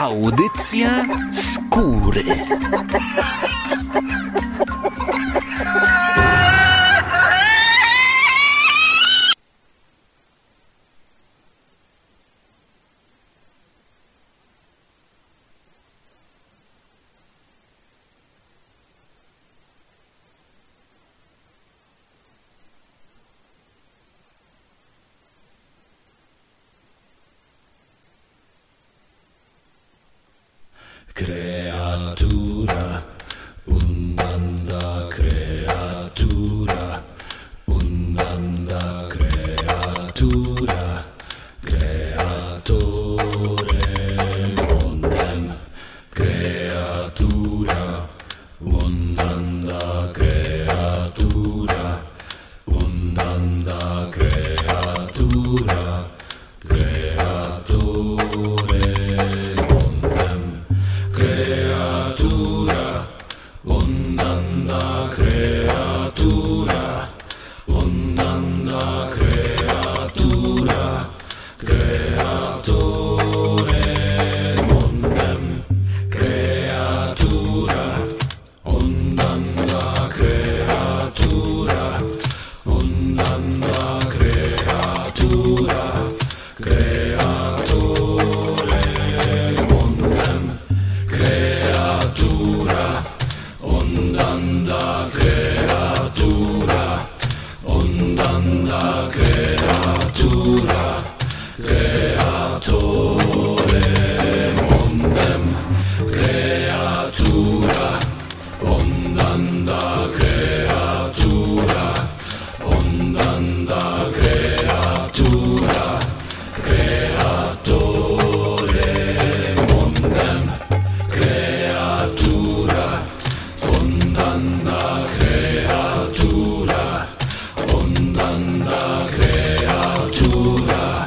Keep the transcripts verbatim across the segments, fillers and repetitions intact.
Audycja Skóry. Creatura, undanda creatura, undanda creatura, creatore mondem, creatura, undanda creatura, undanda creatura, creatore creatura, ondanda creatura, ondanda creatura, creatore mondem, creatura, ondanda creatura, ondanda creatura, creatore mondem, creatura, ondanda creatura, ondanda creatura, creatore mondem, creatura, ondanda creatura, ondanda creatura, creatore mondem, creatura, ondanda creatura, ondanda creatura,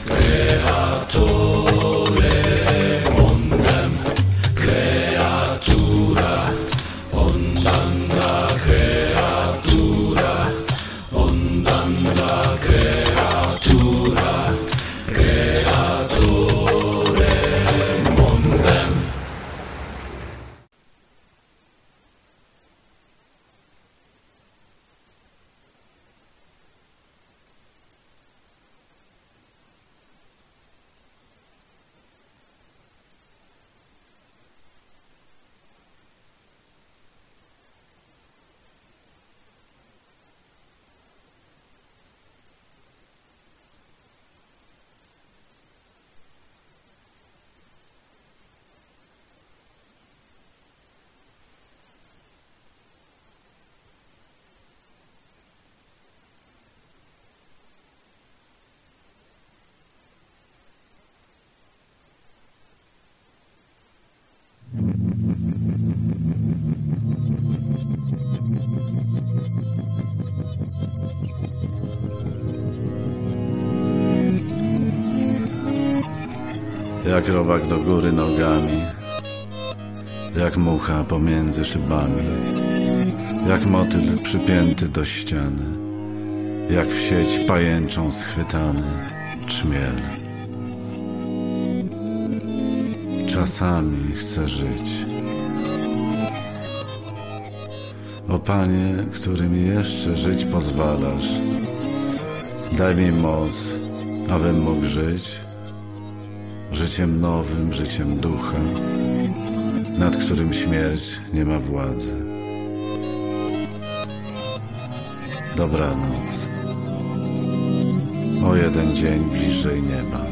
creatore mondem, creatura, ondanda creatura, ondanda creatura, creatore mondem. Jak robak do góry nogami, jak mucha pomiędzy szybami, jak motyl przypięty do ściany, jak w sieć pajęczą schwytany czmiel. Czasami chcę żyć. O Panie, który mi jeszcze żyć pozwalasz, daj mi moc, abym mógł żyć życiem nowym, życiem ducha, nad którym śmierć nie ma władzy. Dobranoc. O jeden dzień bliżej nieba.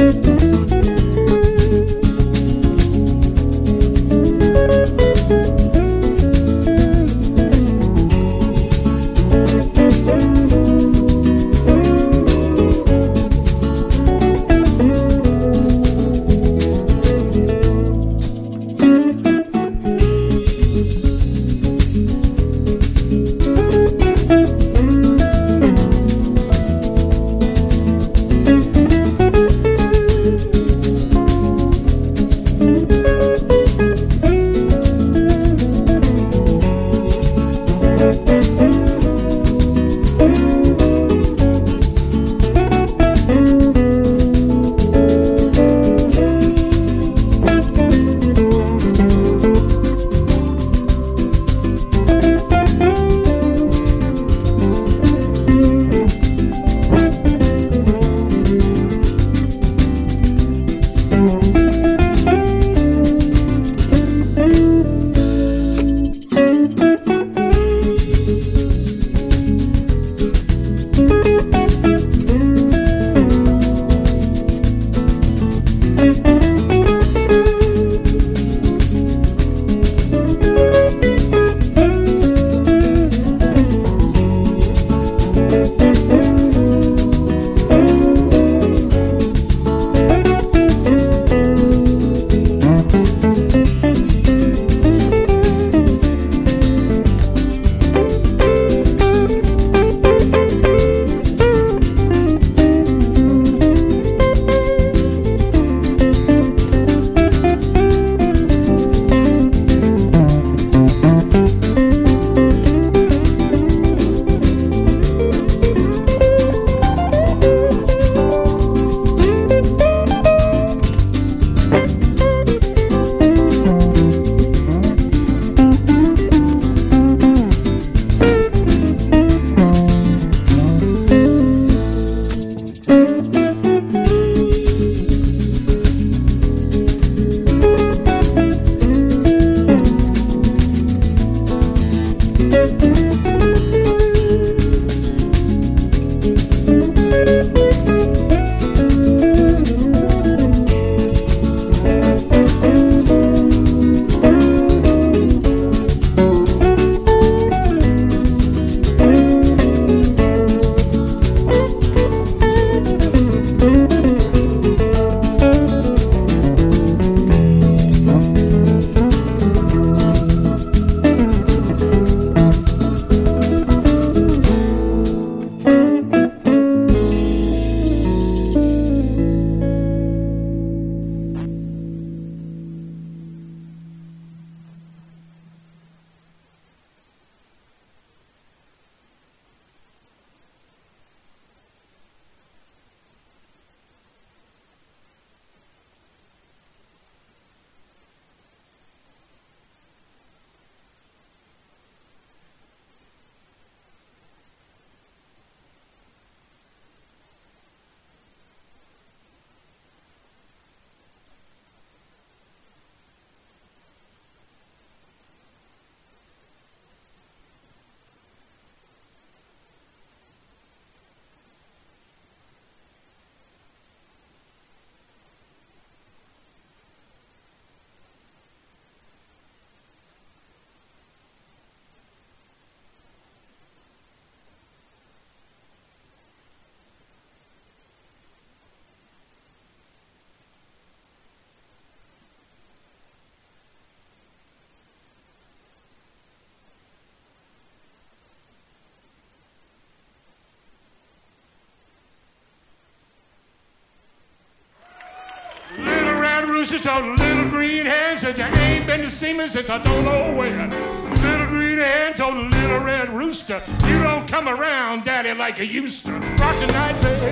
She told a little green hen, said you ain't been to see me since I don't know when. Little green hen told a little red rooster, you don't come around, daddy, like you used to. Rock tonight, baby.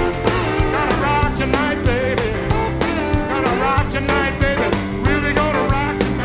Gotta rock tonight, baby. Gotta rock tonight, baby. Really gonna rock tonight.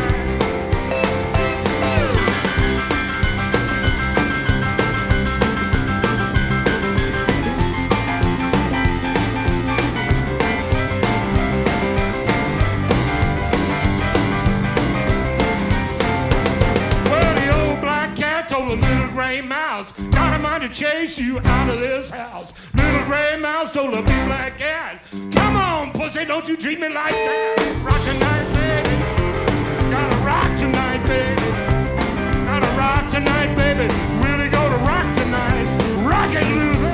Told a little gray mouse, got a mind to chase you out of this house. Little gray mouse told a big black cat, come on, pussy. say, don't you treat me like that. Rock tonight, baby. Gotta rock tonight, baby. Gotta rock tonight, baby. Really gonna rock tonight. Rock it, Luther.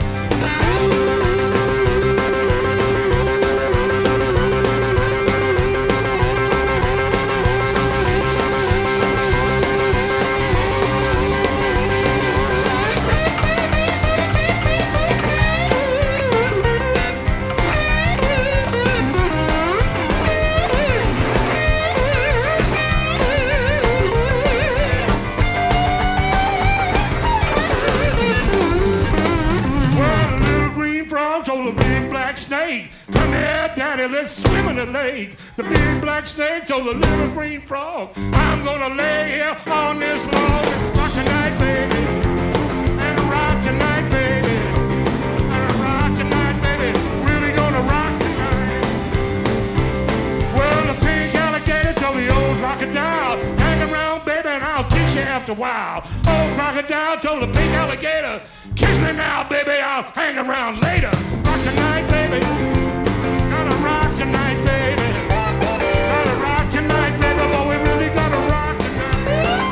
Snake, come here, daddy, let's swim in the lake. The big black snake told the little green frog, I'm gonna lay here on this log and rock tonight, baby. And rock tonight, baby. And rock tonight, baby. Really gonna rock tonight. Well, the pink alligator told the old crocodile, hang around, baby, and I'll kiss you after a while. Old crocodile told the pink alligator, kiss me now, baby, I'll hang around later. Rock tonight, baby. Gotta rock tonight, baby. Gotta rock tonight, baby. But we really gotta rock tonight.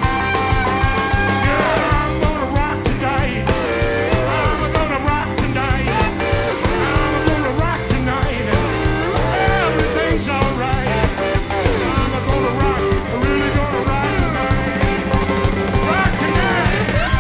Yeah, I'm gonna rock tonight. I'm gonna rock tonight. I'm gonna rock tonight. Everything's alright. I'm gonna rock. I'm really gonna rock tonight. Rock tonight.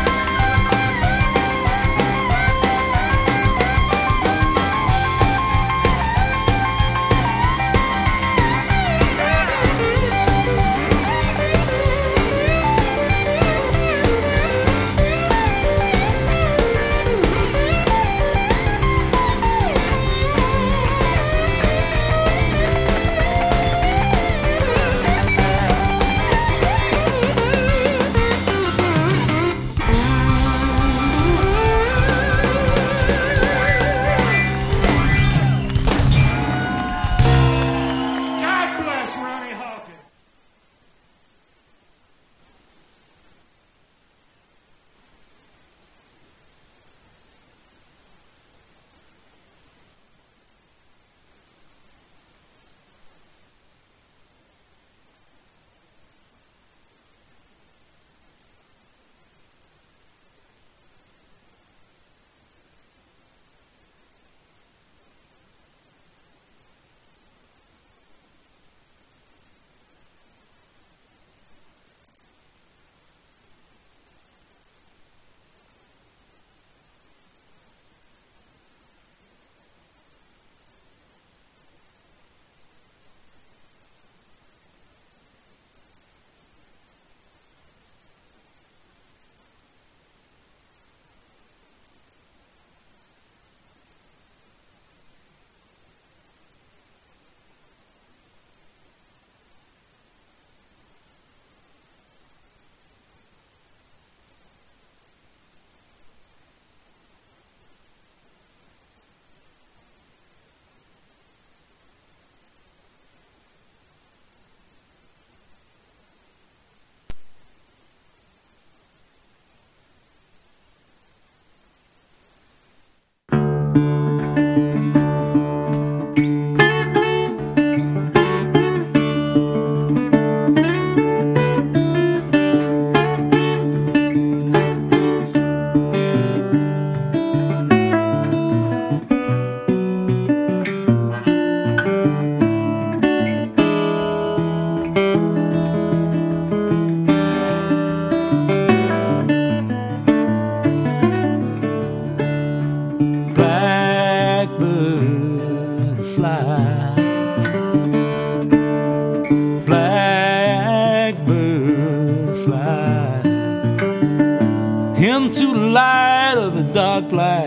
into the light of a dark black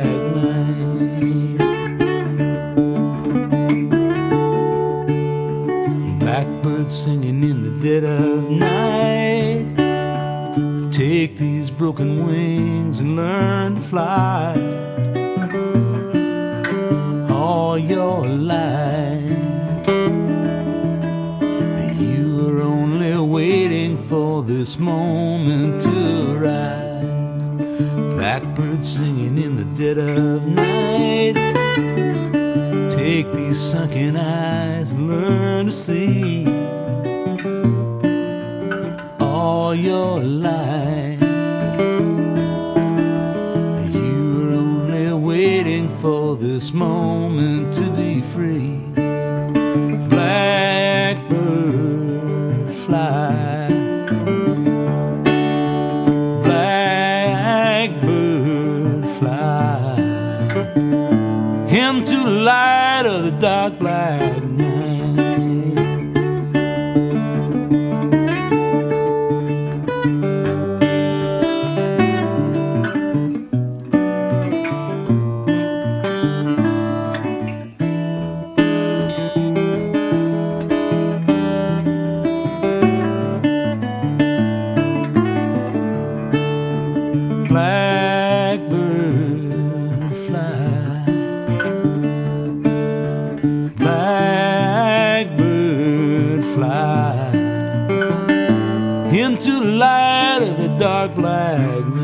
night. Blackbirds singing in the dead of night. Take these broken wings and learn to fly all your life. You were only waiting for this moment to rise. Blackbirds singing in the dead of night. Take take these sunken eyes and learn to see all your life. You were only waiting for this moment to be free. Blackbird fly, blackbird fly into the light of the dark black night. Blackbird fly, blackbird fly into the light of the dark black night.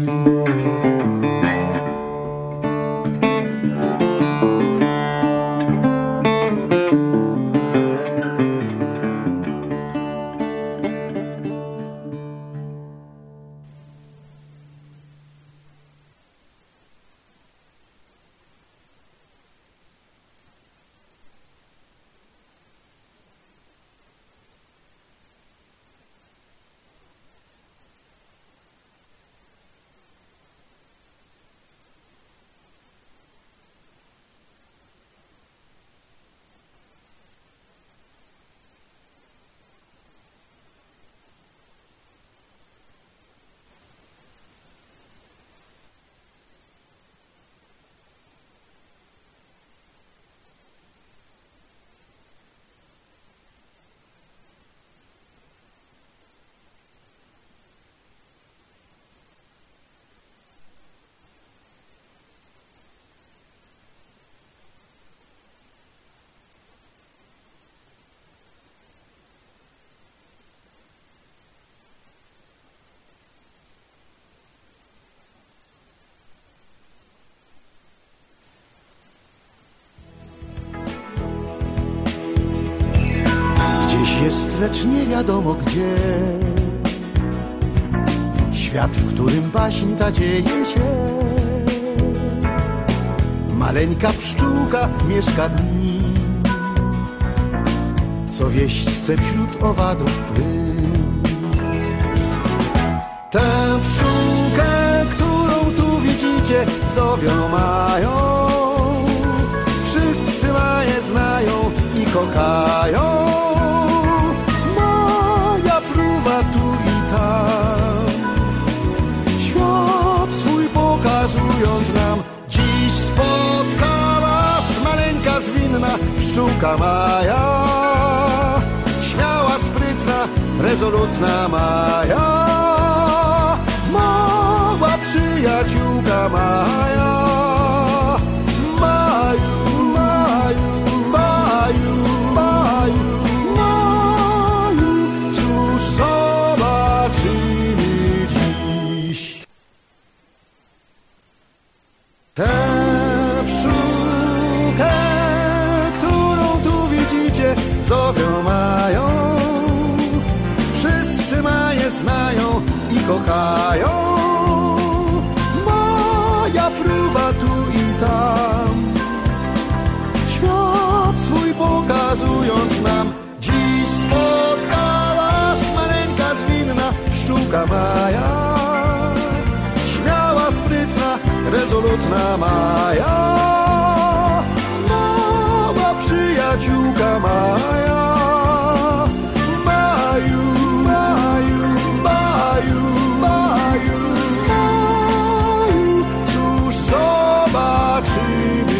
Jest, lecz nie wiadomo gdzie. Świat, w którym baśń ta dzieje się. Maleńka pszczółka mieszka w nim, co wieść chce wśród owadów plyn. Tę pszczółkę, którą tu widzicie, zowią mają. Wszyscy maje znają i kochają. Tu i tam, świat swój pokazując nam. Dziś spotkała nas maleńka zwinna pszczółka Maja. Śmiała, sprytna, rezolutna Maja. Mała przyjaciółka Maja. Maju, Maju, Maju, Maju. Tę pszczółkę, którą tu widzicie, zowią mają. Wszyscy maje znają i kochają. Maja fruwa tu i tam, świat swój pokazując nam. Dziś spotkała nas maleńka zwinna pszczółka Maja. Śmiała, sprytna, rezolutna Maja. Mała przyjaciółka Maja. Maju, Maju, Maju, Maju, Maju. Cóż zobaczymy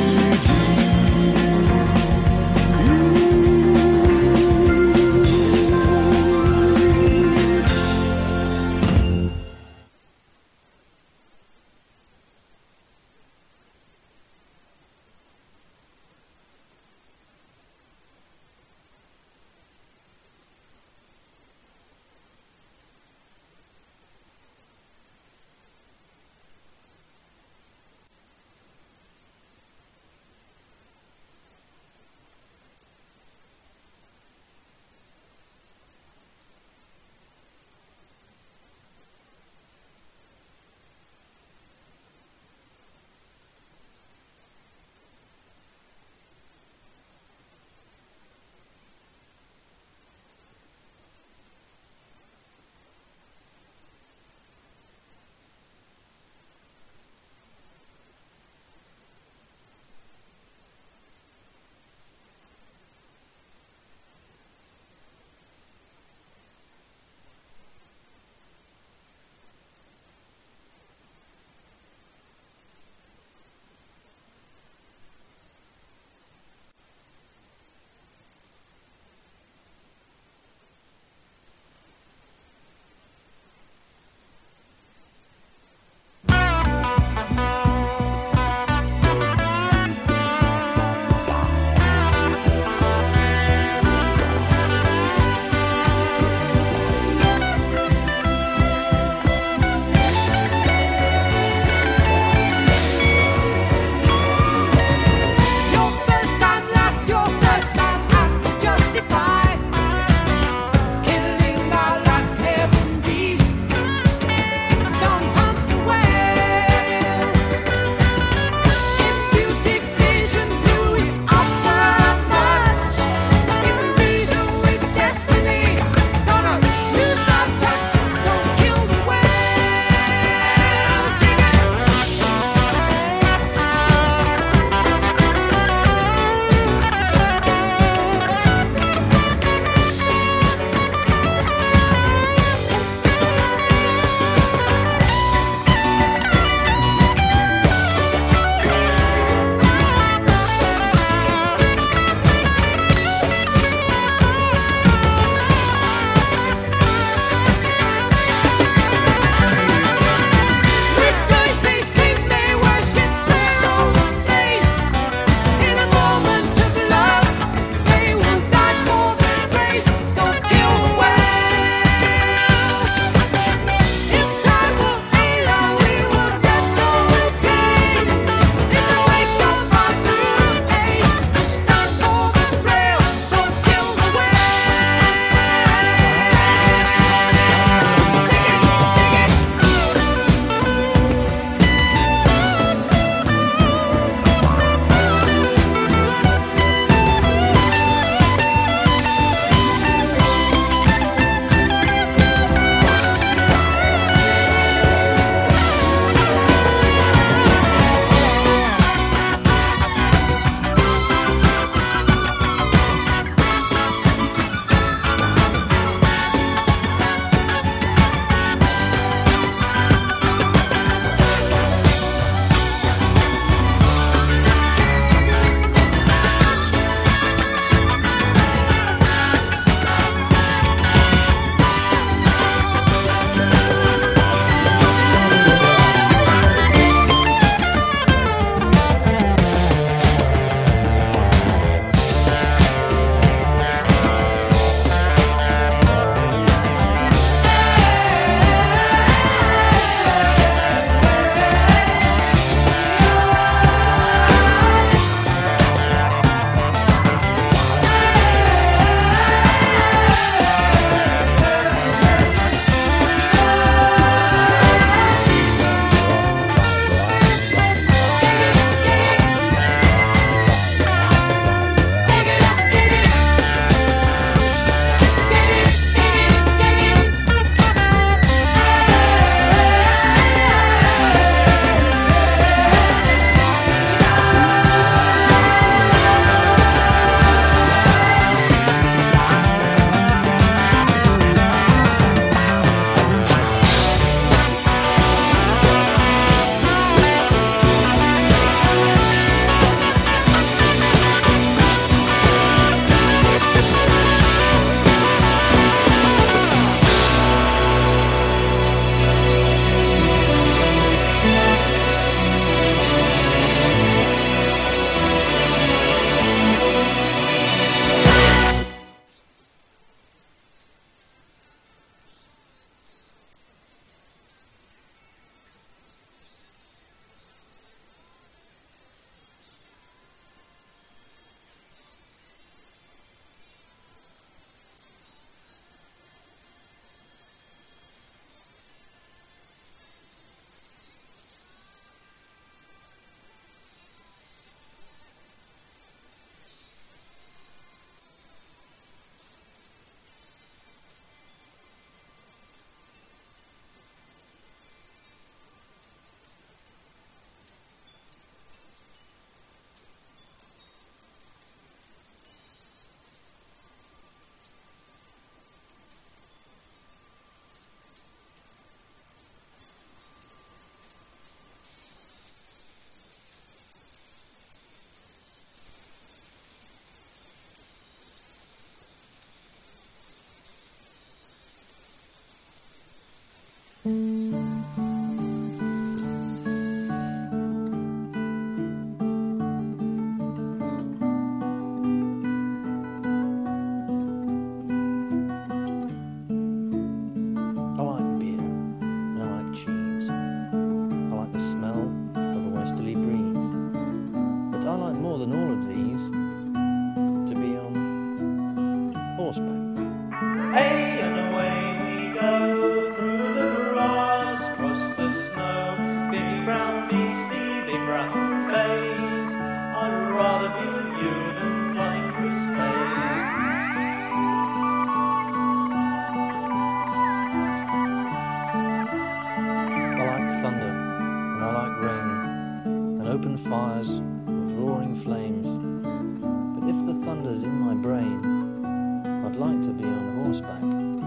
I'd like to be on horseback.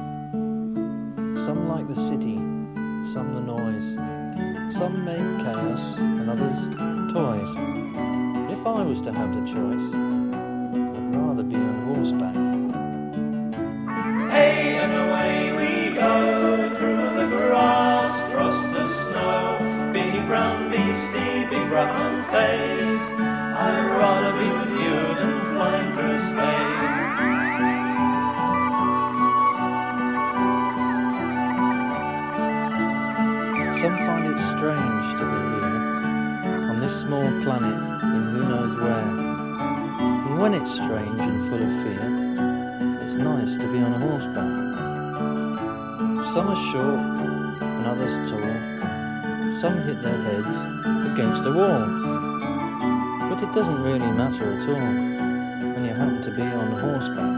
Some like the city, some the noise. Some make chaos and others toys. If I was to have the choice, I'd rather be on horseback. Hey, and away we go through the grass, across the snow. Big brown beastie, big brown face. I'd rather be with you than flying through space. Some find it strange to be here, on this small planet in who knows where. And when it's strange and full of fear, it's nice to be on horseback. Some are short and others tall. Some hit their heads against a wall. But it doesn't really matter at all when you happen to be on horseback.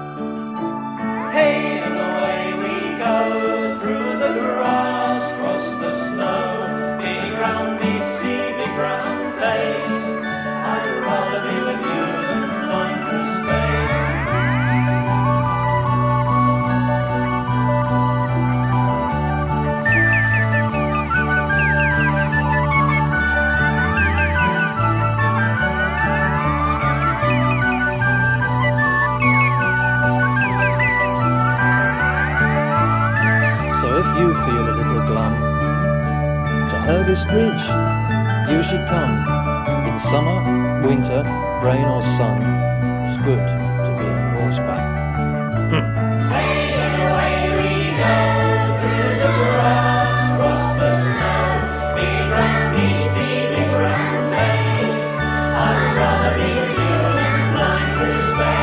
Hey, and away we go through the grass, across the snow. Big brown beastie, big brown face. I'd rather be with you than flying through space. You feel a little glum to Hurgis Bridge, you should come. In summer, winter, rain or sun, it's good to be on horseback. Hey, and away we go through the grass, across the snow. Big brown beastie, big brown face. I'd rather be with you than flying through space.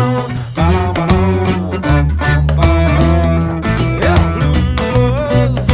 Yeah, blues.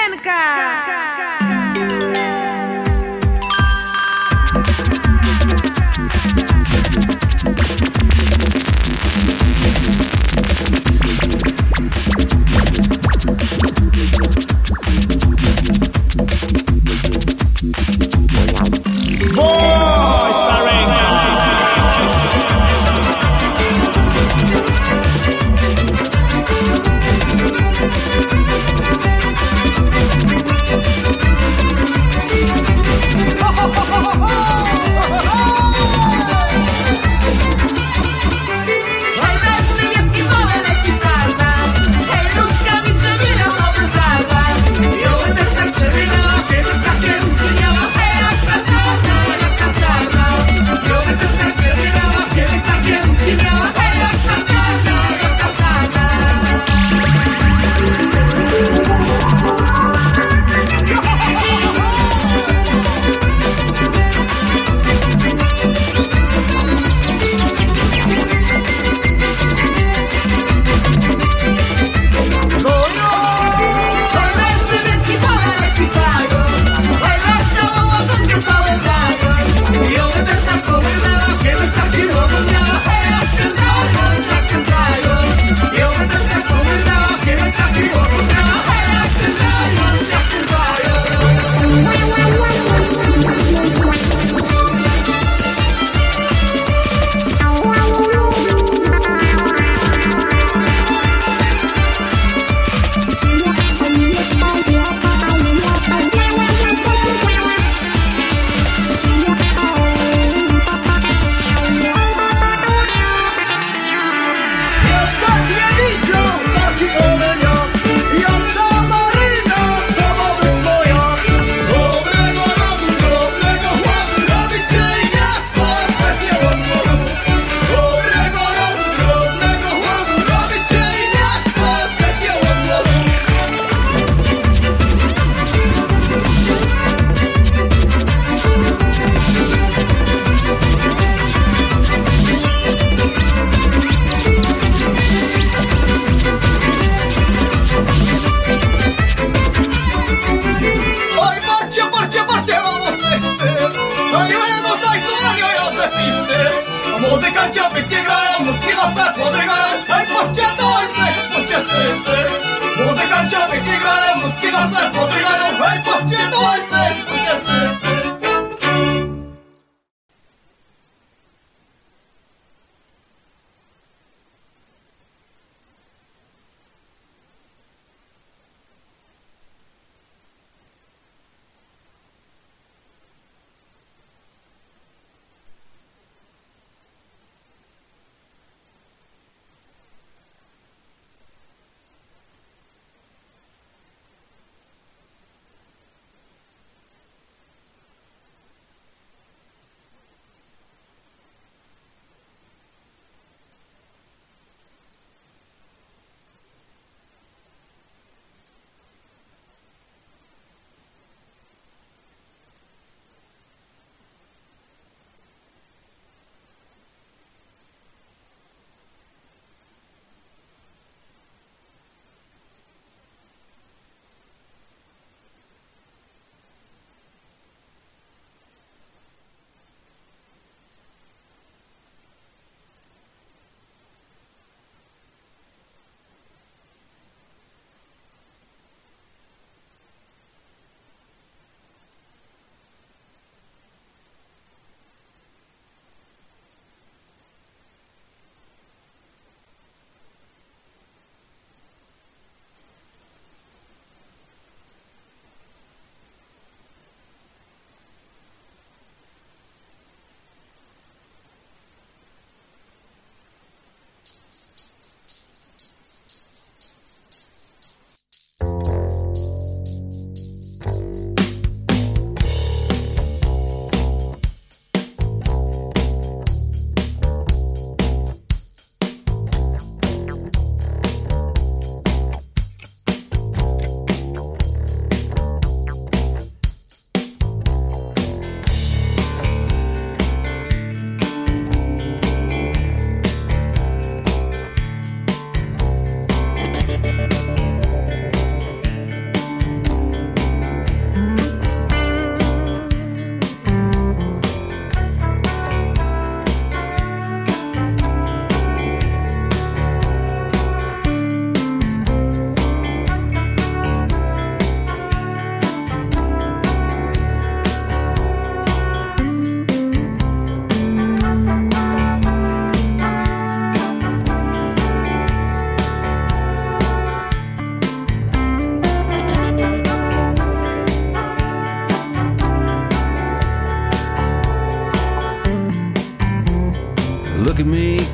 Sarenka! Boy, Sarenka!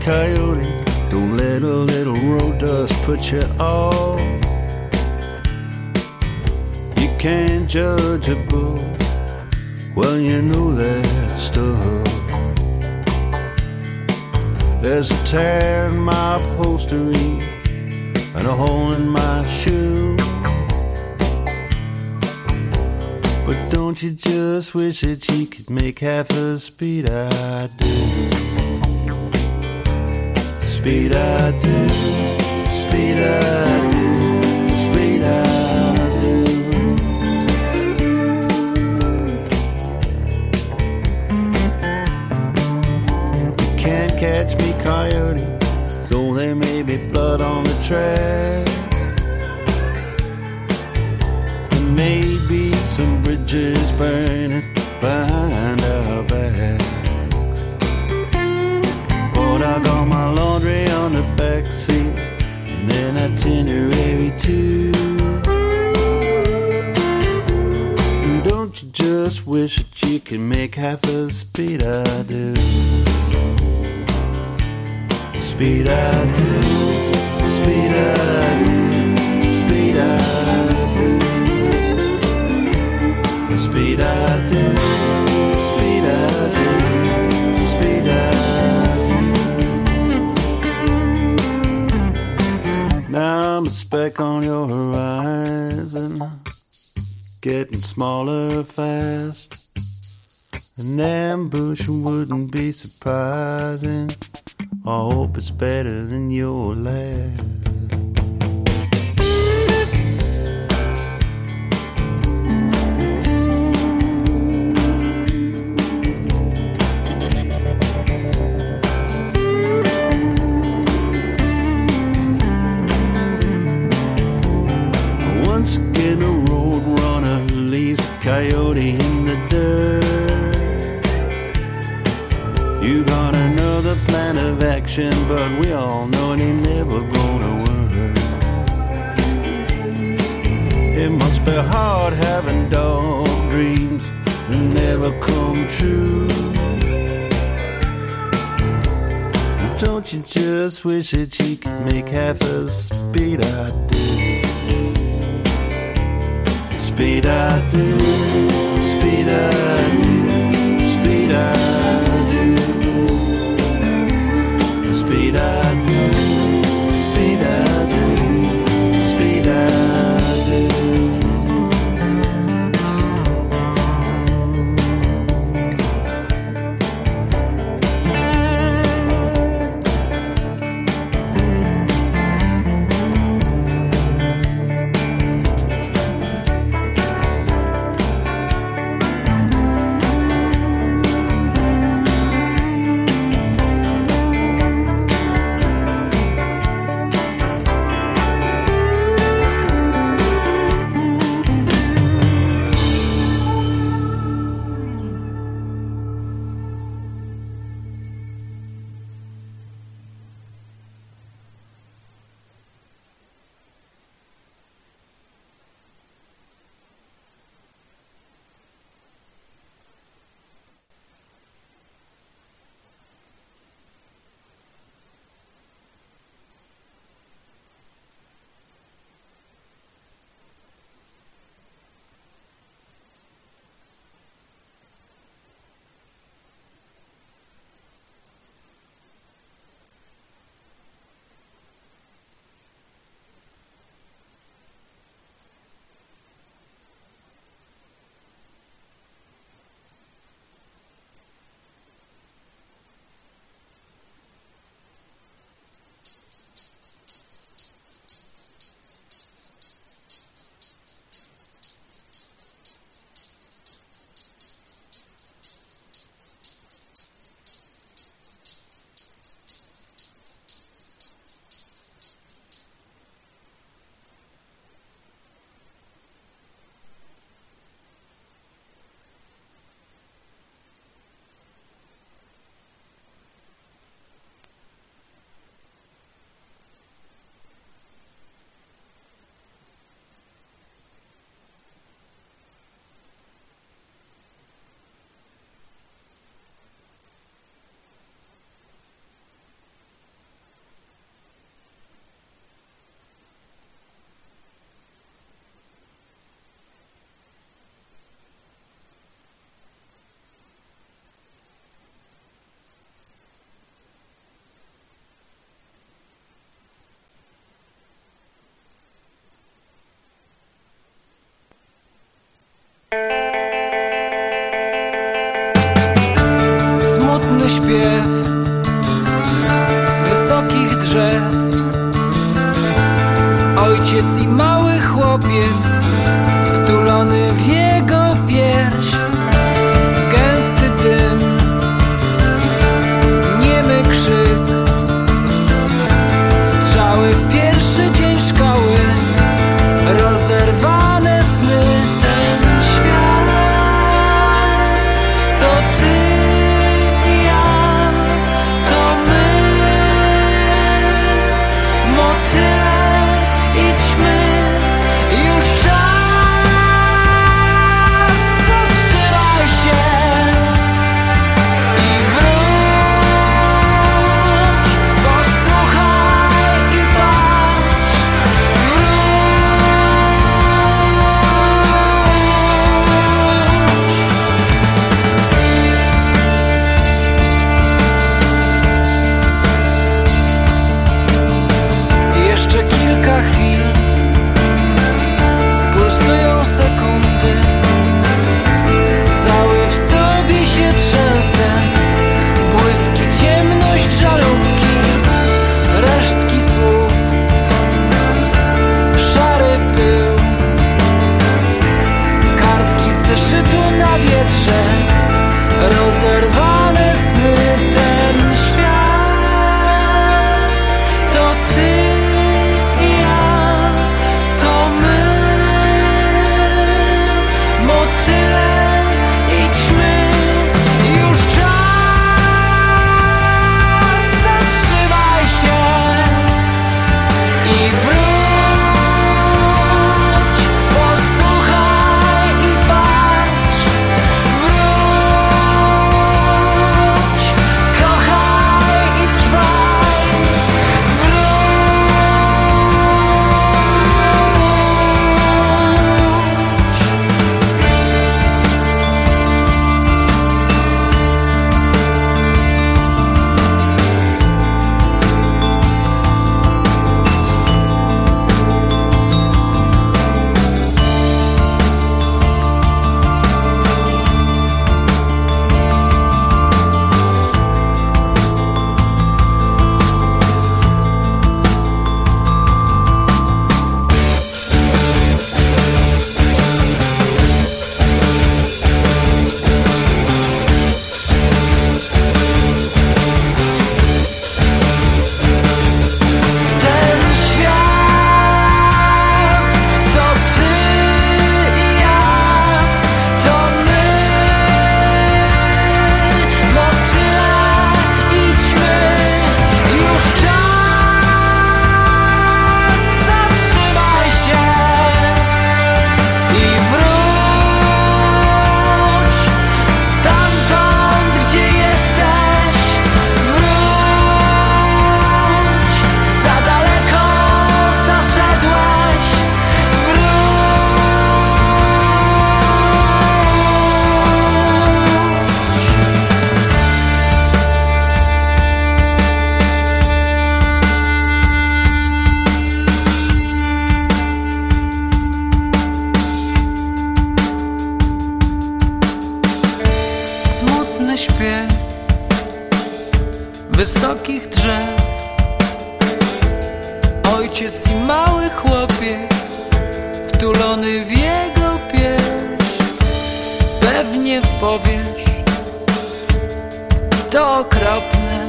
coyote. Don't let a little road dust put you off. You can't judge a book, well you know that stuff. There's a tear in my upholstery and a hole in my shoe. But don't you just wish that you could make half the speed I do? Speed I do, speed I do, speed I do. You can't catch me, coyote, though there may be blood on the track. There may be some bridges burning behind our backs. But I got my laundry on the back seat and an itinerary too. And don't you just wish that you could make half the speed I do? Speed I do, speed I do, speed I do. Speed I do, speed I do, speed I do. Now I'm a speck on your horizon, getting smaller fast. An ambush wouldn't be surprising. I hope it's better than your last. Once again a road runner leaves a coyote in the dirt. You got another plan of action, but we all know it ain't never gonna work. It must be hard having dog dreams that never come true. Don't you just wish that you could make half the speed I do? Speed I do, speed I do, speed I do. Speed I do, speed I do, speed I do. śpiew wysokich drzew. Ojciec i mały chłopiec wtulony w jego pierś. Gęsty dym, niemy krzyk, strzały w pierwszy dzień szkoły, rozerwane sny. Ten świat to ty i ja, to my, motyle i ćmy. Już czas, zatrzymaj się i wróć, posłuchaj i patrz. Wróć. Jeszcze kilka chwil, pulsują sekundy, cały w sobie się trzęsę. Błyski, ciemność, żarówki, resztki słów, szary pył, kartki z zeszytu na wietrze, rozerwane sny. Ten świat to ty i ja, to my, motyle i ćmy. Już czas, zatrzymaj się i wróć, posłuchaj i patrz. Wróć, kochaj i trwaj. Wróć. Ten świat to ty i ja, to my, motyle i ćmy. Już czas, zatrzymaj się i wróć stamtąd, gdzie jesteś. Wróć, za daleko zaszedłeś. Wróć. Smutny śpiew wysokich drzew. Ojciec i mały chłopiec wtulony w jego pierś. Pewnie powiesz, to okropne,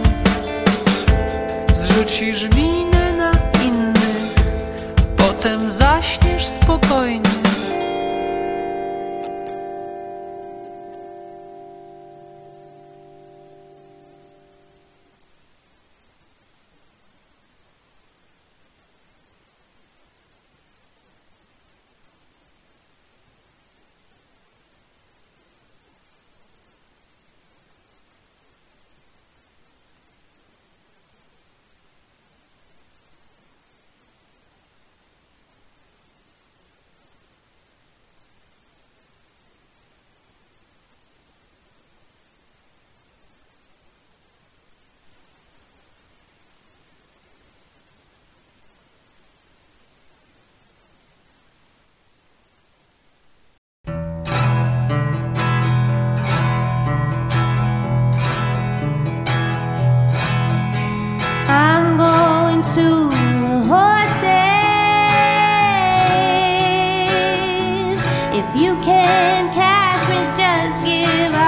zrzucisz winę na innych, potem zaśniesz spokojnie. You can catch me, just give up.